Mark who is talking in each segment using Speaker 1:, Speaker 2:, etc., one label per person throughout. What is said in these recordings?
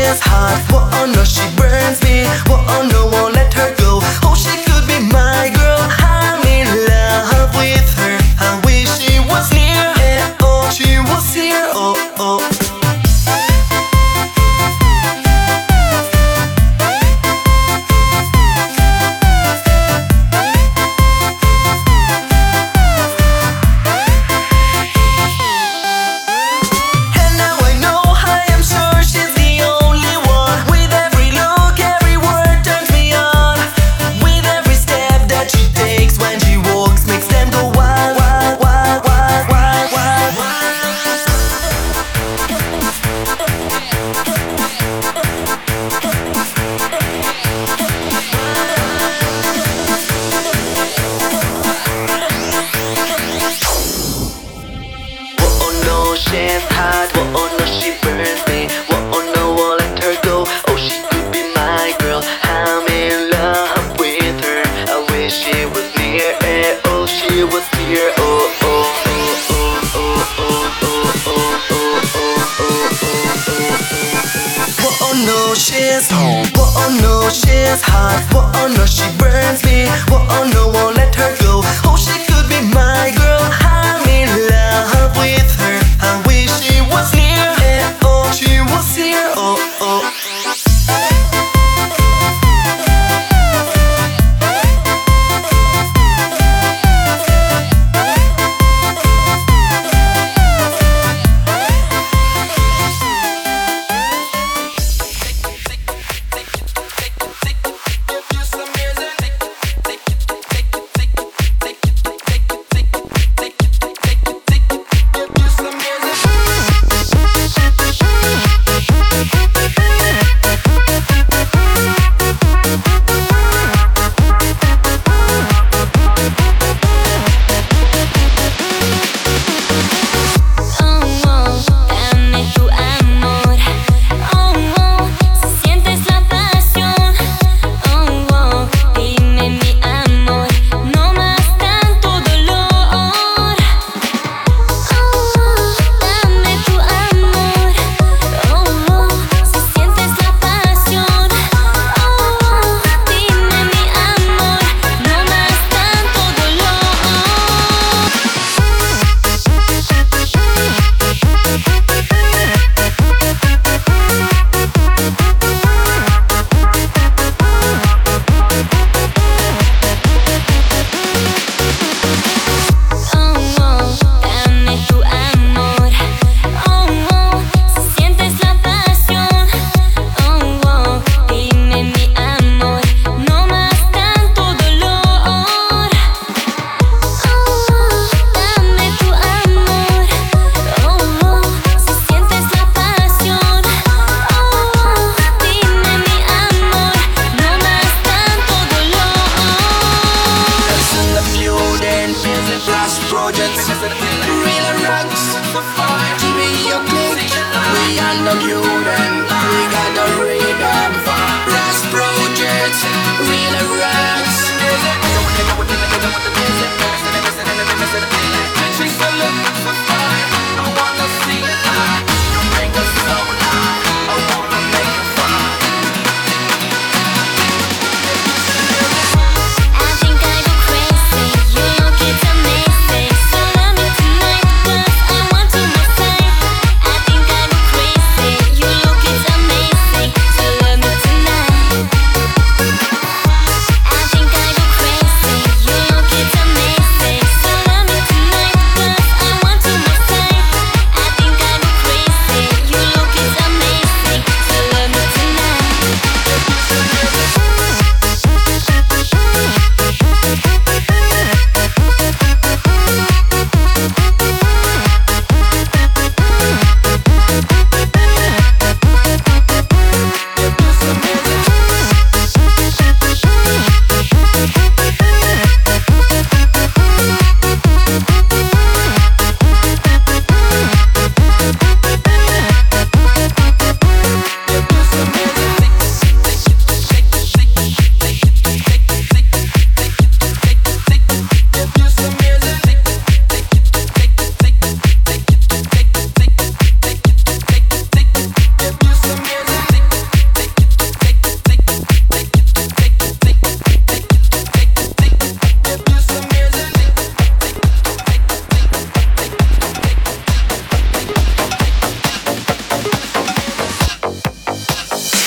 Speaker 1: is hot. Oh no, she burns me. Oh no, won't let her go. Oh, she could be my girl. I'm in love with her. I wish she was near. Oh, she was here. Oh, oh. She's hot, oh no, she burns me. Oh no, won't let her go. Oh, she could be my girl. I'm in love with her. I wish she was near. Oh, she was here. Oh, oh, oh, oh, oh, oh, oh, oh, oh, oh, oh no, she's hot. Oh no, she's hot. Oh no, she burns me. Oh no, won't let her go. Oh, she could be my girl. I'm in love with her. I wish she was near. Oh, she was here. Oh, oh.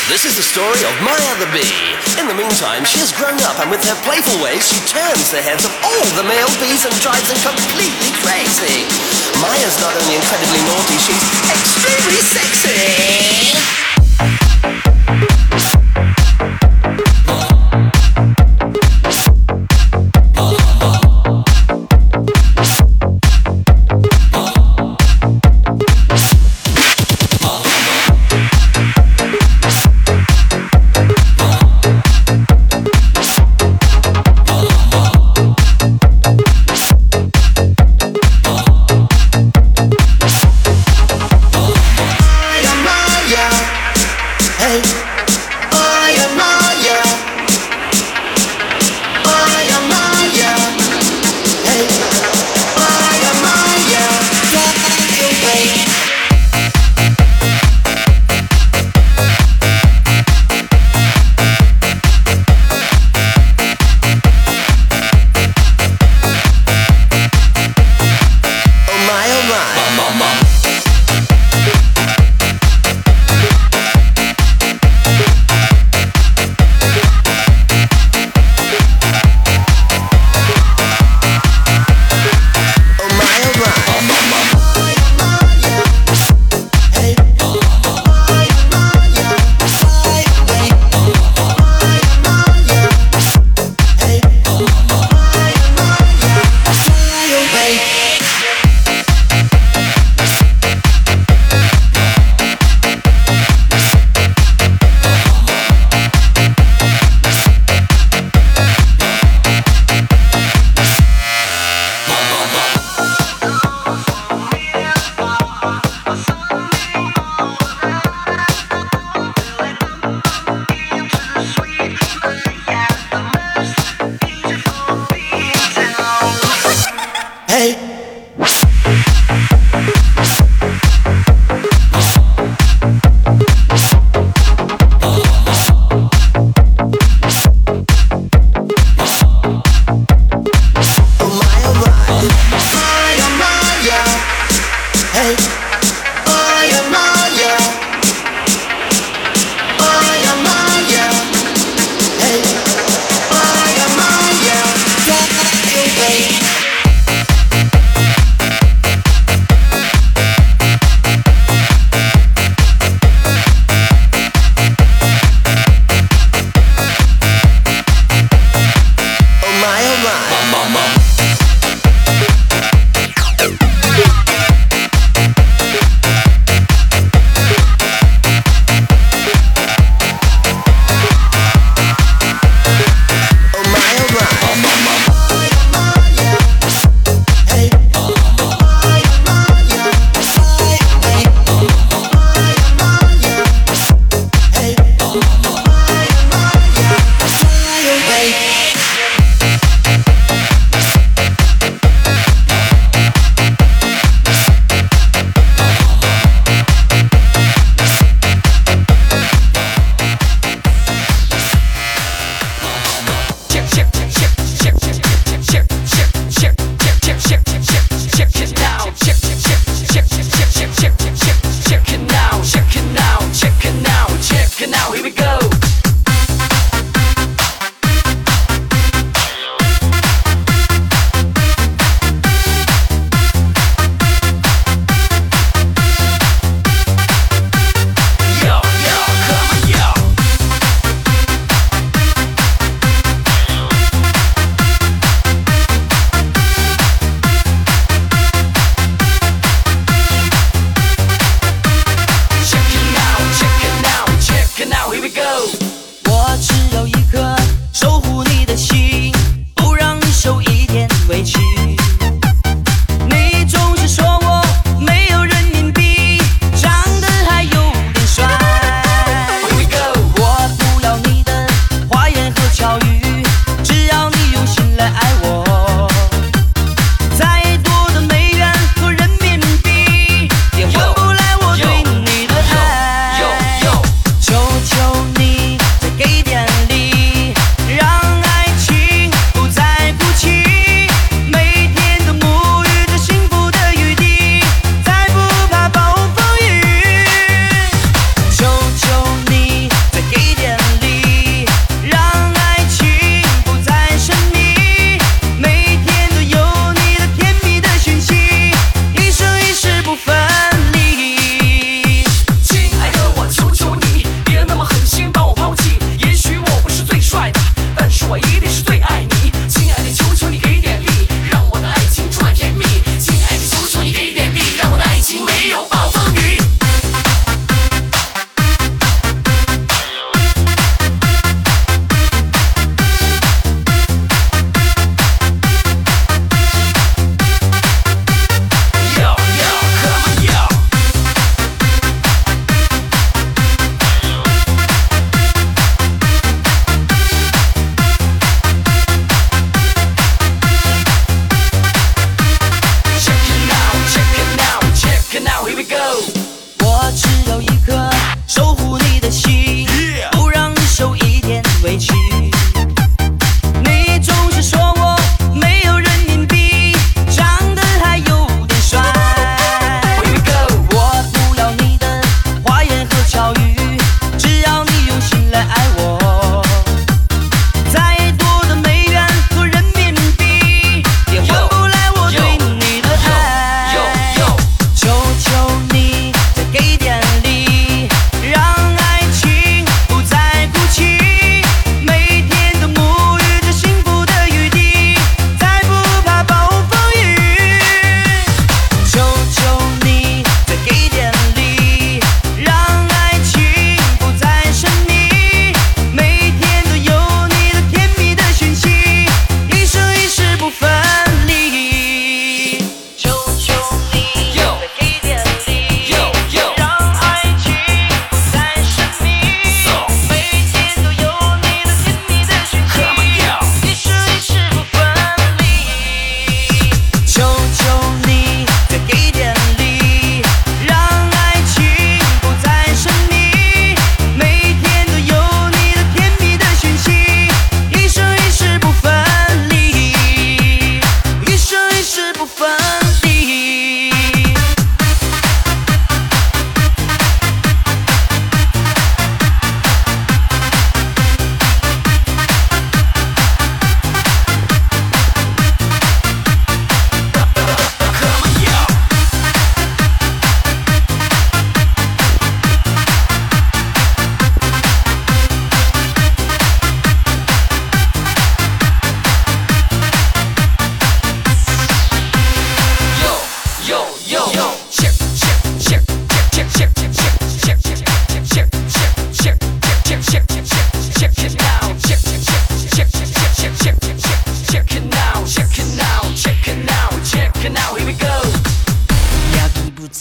Speaker 2: This is the story of Maya the bee. In the meantime, she has grown up, and with her playful ways, she turns the heads of all the male bees and drives them completely crazy. Maya's not only incredibly naughty, she's extremely sexy.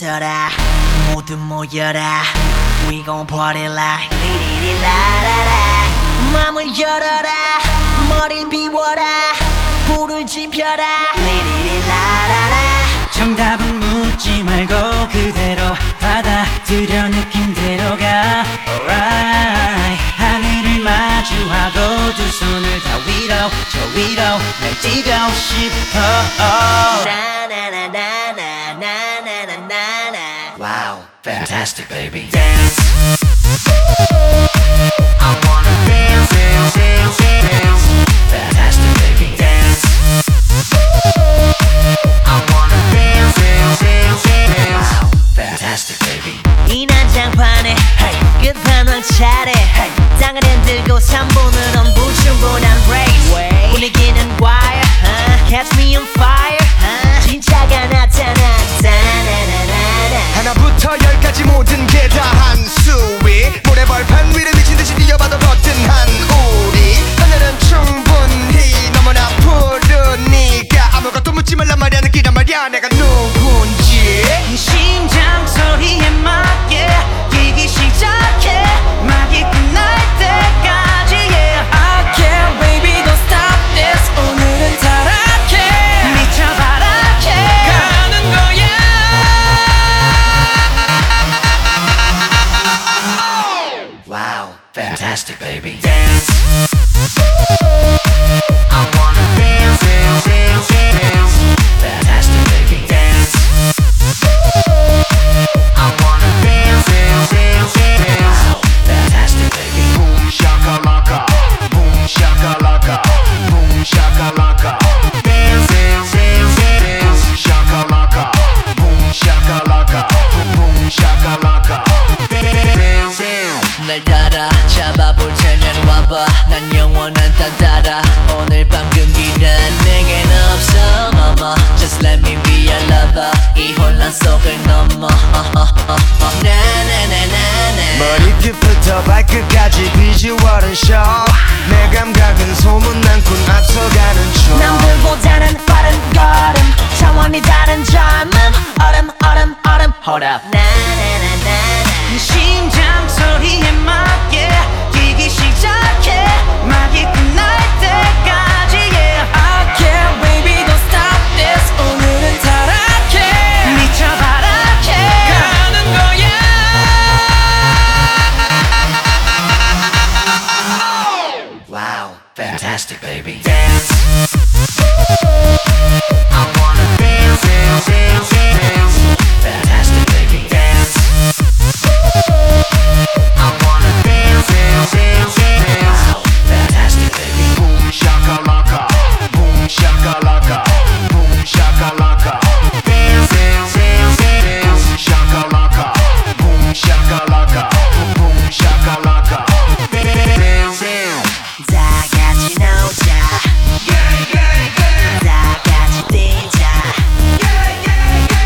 Speaker 3: 있어라 모두 모여라 We gon' party like 리리리라라라 맘을 열어라 머리를 비워라 불을 지펴라 리리리라라라
Speaker 4: 정답은 묻지 말고 그대로 받아들여 느낌대로 가 Alright 하늘을 마주하고 두 손을 다 위로 저 위로 날 뛰고 싶어
Speaker 3: 나나나나나나나나나
Speaker 4: Wow, fantastic baby
Speaker 3: Dance I wanna dance, dance, dance, dance
Speaker 4: Fantastic baby
Speaker 3: Dance I wanna dance, dance, dance, dance
Speaker 4: Wow, fantastic baby
Speaker 3: 이 난장판에 끝판왕 차례 땅을 흔들고 3분은 엄부충분한 race 분위기는 wire Catch me on fire 진짜가 나타났다
Speaker 1: 하나부터 열까지 모든 게 다 한 수위 모래벌판 위를 미친듯이 뛰어봐도 거뜬한 우리 하늘은 충분히 너무나 푸르니까 아무것도 묻지 말란 말이야 느끼란 말이야 내가 누군지
Speaker 4: 심장 소리에 맞게 뛰기 시작해 막이 끝날 때까지 yeah I can't baby don't stop this 오늘은 타락해 미쳐 바락해 가는 거야 Wow fantastic baby
Speaker 3: Dance I wanna dance, dance, dance, dance
Speaker 4: Fantastic baby
Speaker 3: Dance I wanna dance, dance, dance, dance
Speaker 4: Wow fantastic baby
Speaker 1: Boom shakalaka Boom shakalaka Boom shakalaka
Speaker 3: Dance, dance, dance, dance
Speaker 1: Boom shakalaka Boom shakalaka Boom shakalaka
Speaker 3: Dance, dance
Speaker 4: 날 따라 잡아볼 테면 와봐 난 영원한 딴 따라 오늘 밤 금기는 내겐 없어 mama Just let me be your lover 이 혼란 속을 넘어 나나나나나
Speaker 1: 머리끝부터 발끝까지 비주얼은 show 내 감각은 소문난 군 앞서가는 중
Speaker 3: 남들보다는 빠른 걸음 차원이 다른 젊음 얼음 얼음 얼음
Speaker 4: Hold up
Speaker 3: 나나나나나
Speaker 4: 심장 소리에 맞게 뛰기 시작해 막이 끝날 때까지 yeah I can't baby don't stop this 오늘은 타락해 미쳐 바락해 가는 거야 Wow fantastic baby
Speaker 3: Dance I wanna dance, dance, dance, dance
Speaker 4: Fantastic baby
Speaker 3: Dance I wanna dance, dance, dance, dance
Speaker 4: Wow fantastic baby
Speaker 1: Boom shakalaka Boom shakalaka Boom shakalaka
Speaker 3: Dance, dance, dance, dance
Speaker 1: Boom shakalaka Boom shakalaka Boom shakalaka
Speaker 3: Dance, dance 다 같이 놀자 다 같이 뛰자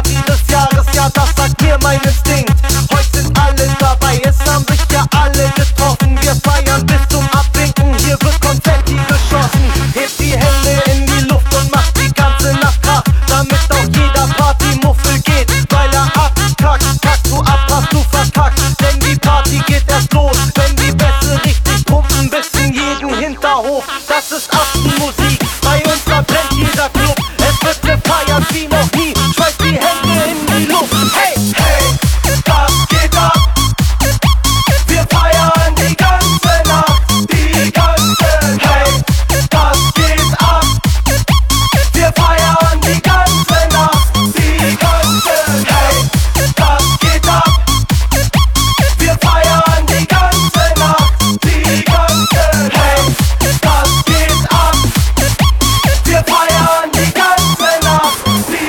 Speaker 5: dieses Jahres, ja das sagt mir mein Instinkt. Heute sind alle dabei, es haben sich ja alle getroffen. Wir feiern bis zum Abwinken, hier wird Konfetti geschossen. Hebt die Hände in die Luft und macht die ganze Nacht Krach, damit auch jeder Partymuffel geht, weil er abkackt. Kackst du ab, hast du verkackt, denn die Party geht erst los, wenn die Bässe richtig pumpen bis in jeden Hinterhof. Das ist Aftenmusik, bei uns verbrennt jeder Club. Es wird gefeiert wie noch nie, schmeiß die Hände in die Luft. Hey, hey, das geht ab. Wir feiern die ganze Nacht, die ganze. Hey, das geht ab. Wir feiern die ganze Nacht, die ganze. Hey, das geht ab. Wir feiern die ganze Nacht, die ganze. Hey, das geht ab. Wir feiern die ganze Nacht, die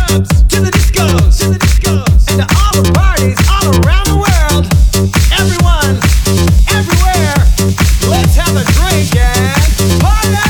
Speaker 6: clubs, to the discos, and to all the parties all around the world. Everyone, everywhere, let's have a drink and party!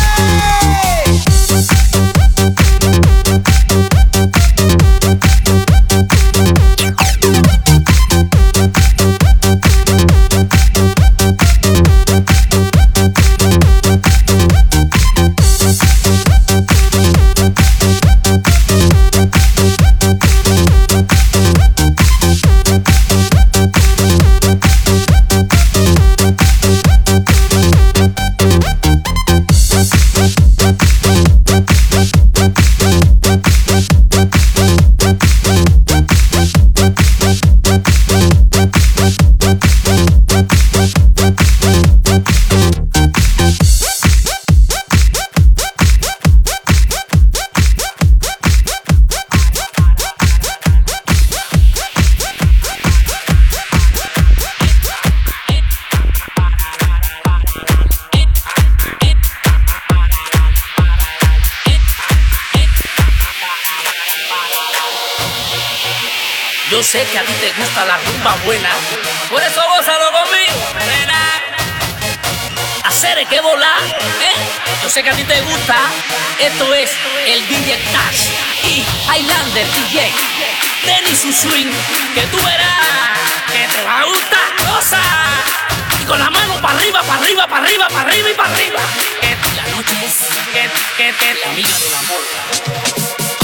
Speaker 7: Yo sé que a ti te gusta la rumba buena, por eso gózalo conmigo, nena. Hacer que volar, Yo sé que a ti te gusta. Esto es el DJ Tash y Highlander DJ. Dennis y Swing, que tú verás que te va a gustar. Goza y con la mano para arriba, para arriba, para arriba, para arriba y para arriba. Que la noche es que la amiga del amor.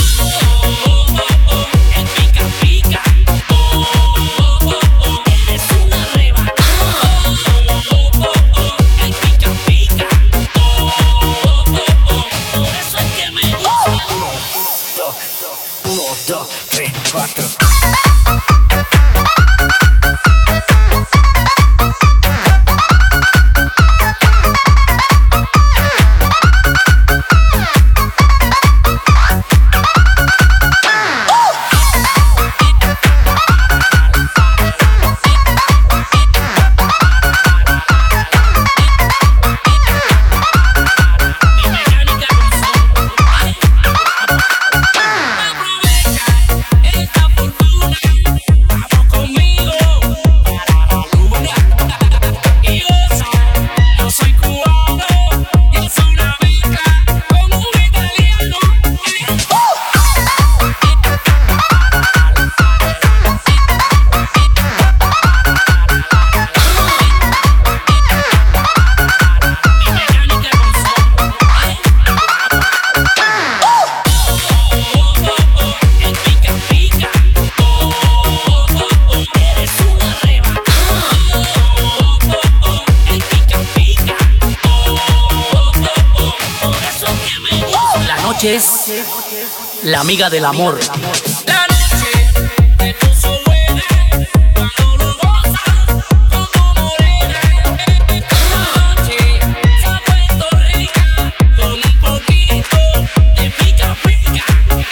Speaker 7: Es la amiga del amor. La noche te puso buena cuando lo gozas con tu morena. La noche se ha puesto rica con un poquito de pica pica.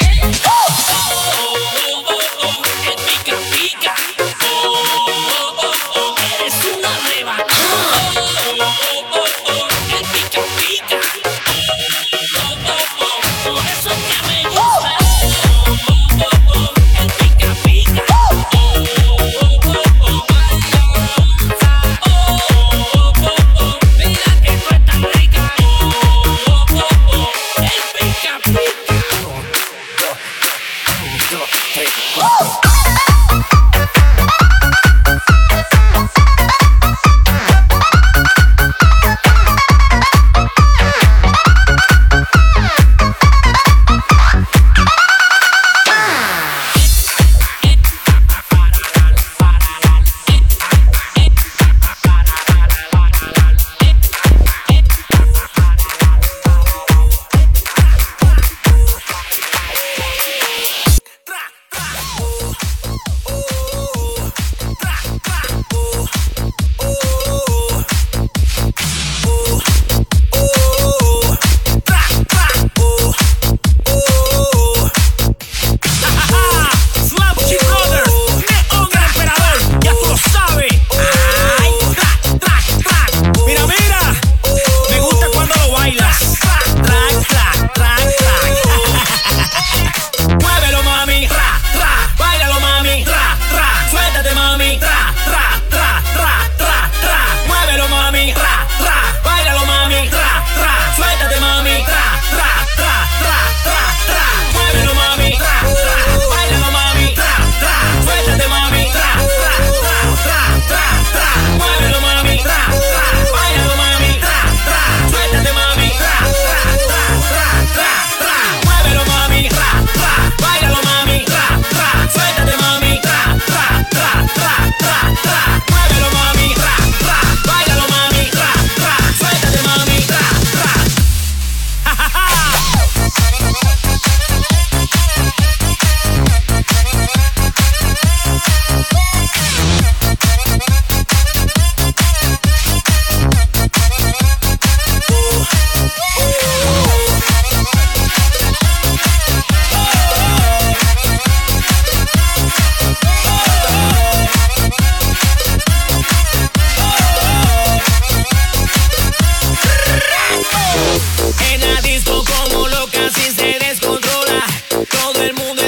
Speaker 7: El pica pica. Eres una reba. El pica pica.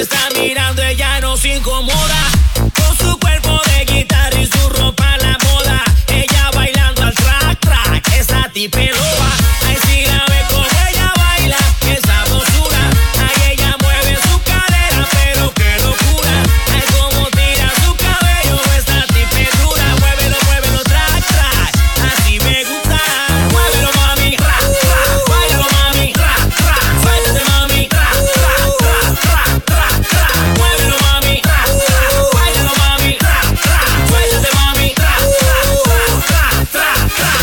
Speaker 7: está mirando, ella no se incomoda. Con su cuerpo de guitarra y su ropa a la moda. Ella bailando al track, track, esa tipe loba. Ay, si la ve como ella baila, qué sabrosura. Ay, ella mueve su cadera, pero qué locura. Ay, como tira su cabello, esa tipe dura. Muévelo, muévelo, track, track, así me gusta. Muévelo, mami, ra, ra. Báilalo, mami, ra, ra. Suéltate, mami, ra, ra, ra, ra, ra, ra. Muévelo, mami, ra, ra. Báilalo, mami, ra, ra. Suéltate, mami, ra, ra, ra, ra, ra, ra.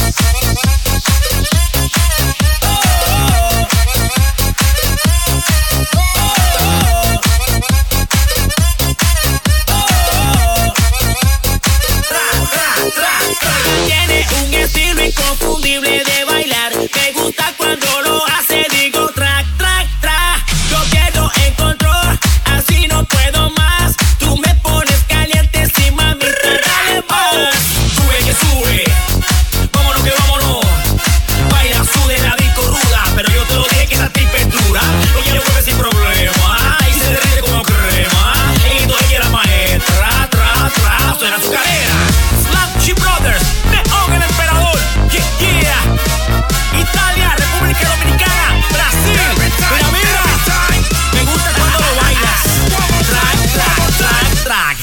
Speaker 7: Tiene un estilo inconfundible de bailar. Me gusta cuando lo hace, digo track, track, track. Yo quiero en control, así no puedo más. Tú me pones caliente, sí, mamita, dale más. Sube que sube, vámonos que vámonos. Baila, sude la disco ruda, pero yo te lo dije que esa tipa es dura. Lo quiero mueve sin problema, y se derrite como crema. Y tú ella la maestra, tra, tra, suena su cadera. Slam Brothers, Neon el Emperador, yeah, yeah. Italia, República Dominicana, Brasil, mira, mira. Me gusta cuando lo bailas. Track, track, track, track.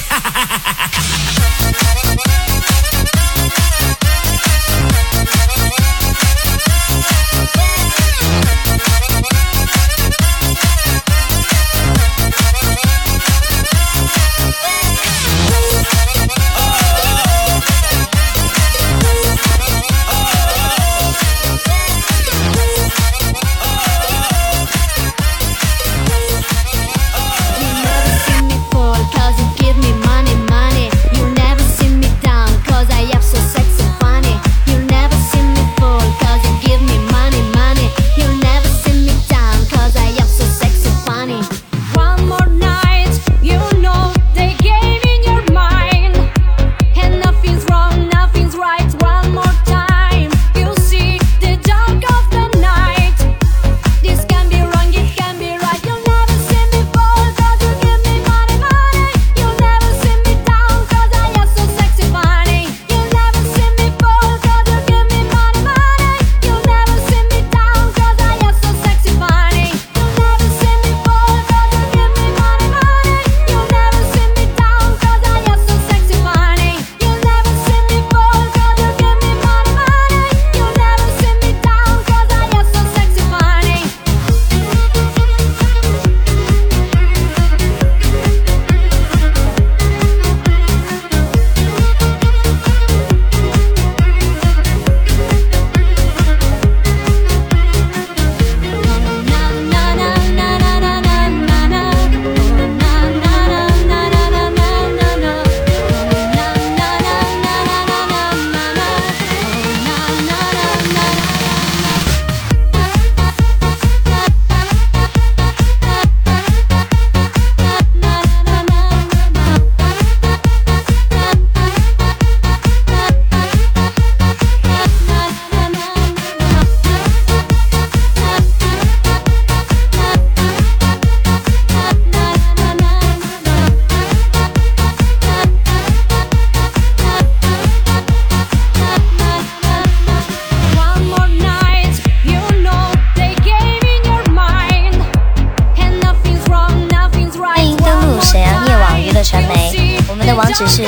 Speaker 8: 网址是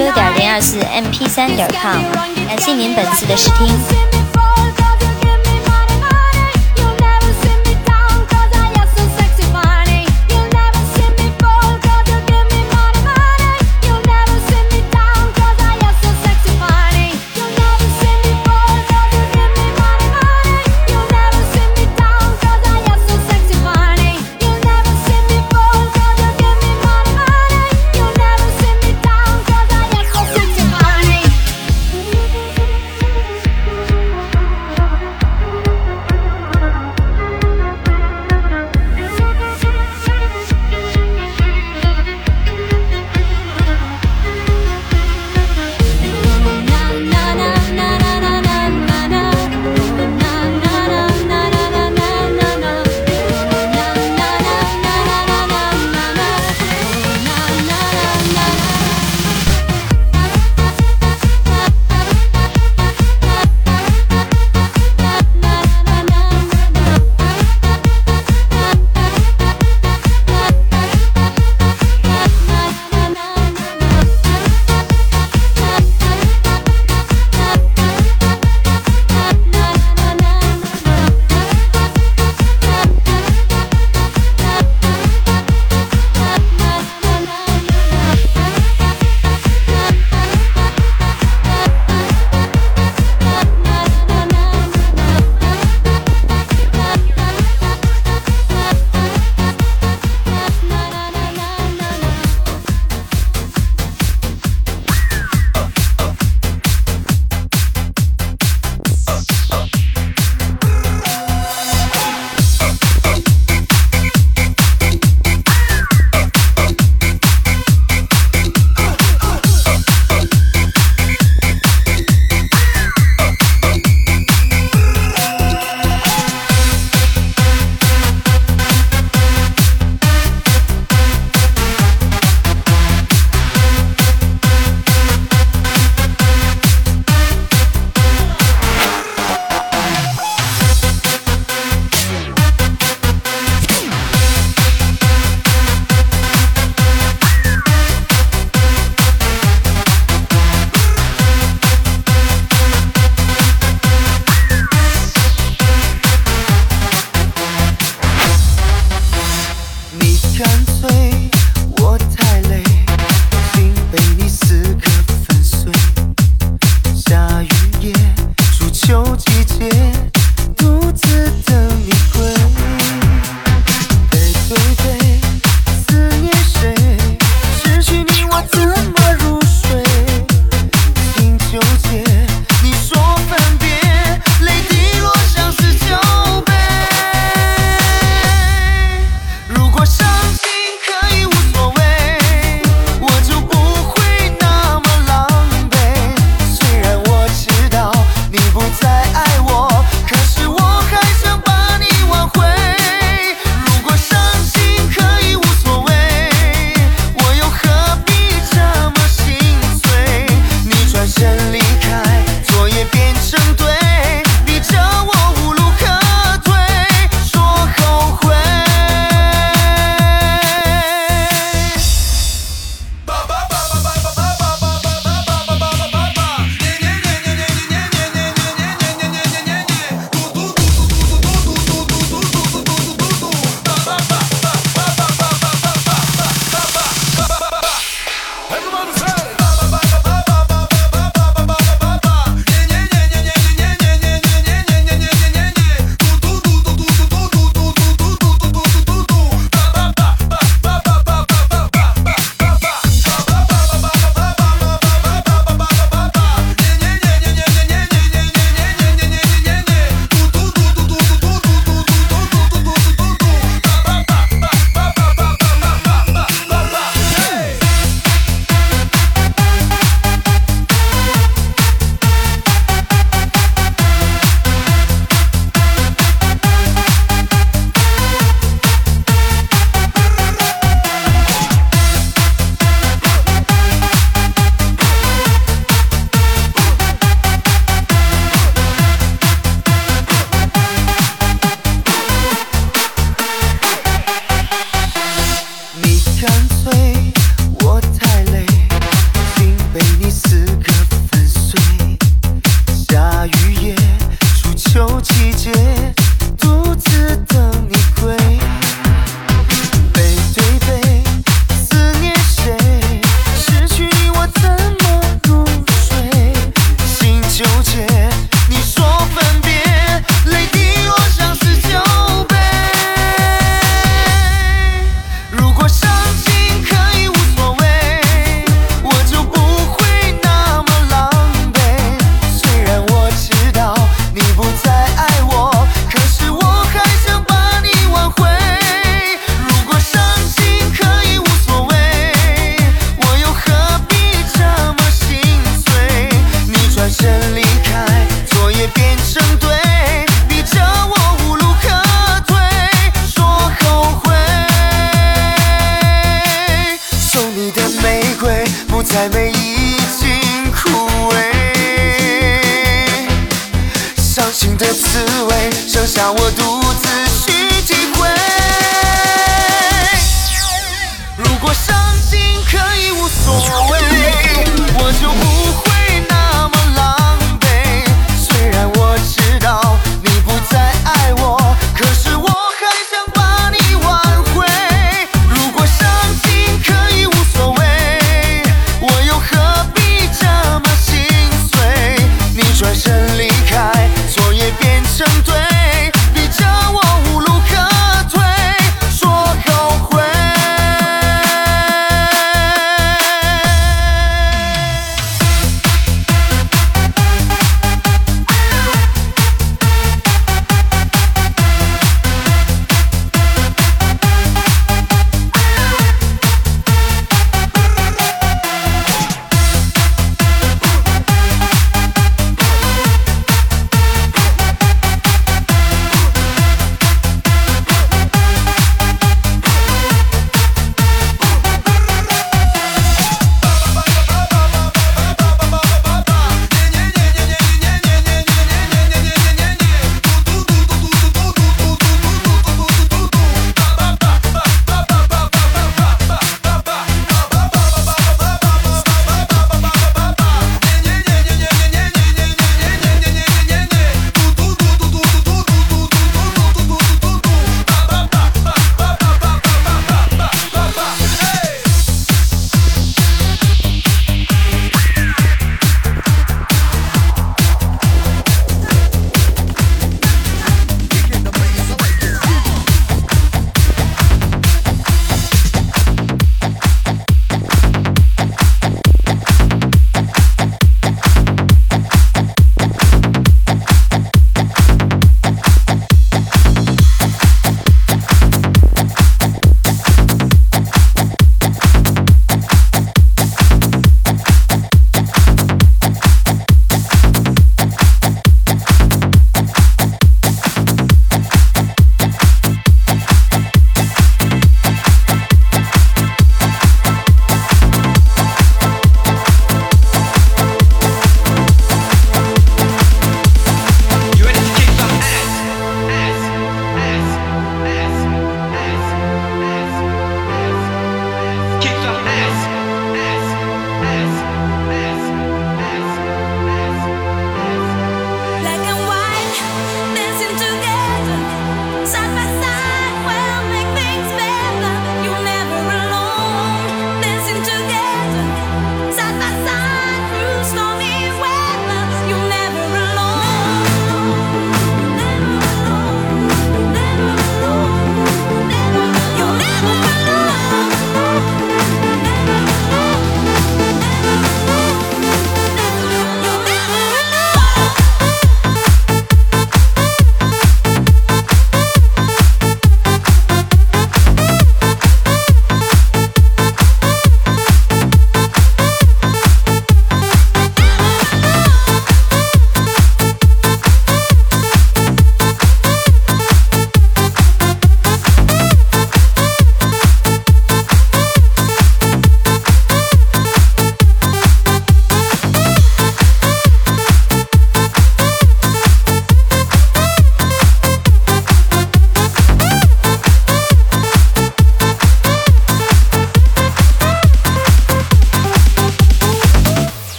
Speaker 8: 3w.024mp3.com， 感谢您本次的试听。
Speaker 1: 再美已经枯萎，伤心的滋味剩下我独自去体会。如果伤心可以无所谓，我就不会那么狼狈。虽然我知道你不再爱我，可是我还想把你挽回。如果伤心可以无所谓，我又何必这么心碎？你转身离开，错也变成对，逼着我无路可退，说后悔。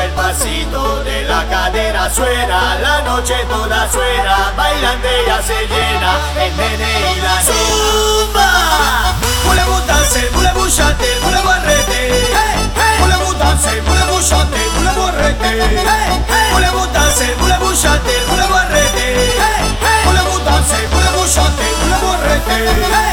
Speaker 5: el pasito de la cadera suena, la noche toda suena, bailando ella se llena, el nene y la zumba. Voulez-vous danser, voulez-vous chanter, voulez-vous arrêter? Voulez-vous danser, voulez-vous chanter, voulez-vous arrêter? Voulez-vous danser, voulez-vous chanter, voulez-vous arrêter? Voulez-vous danser, voulez-vous chanter, voulez-vous arrêter?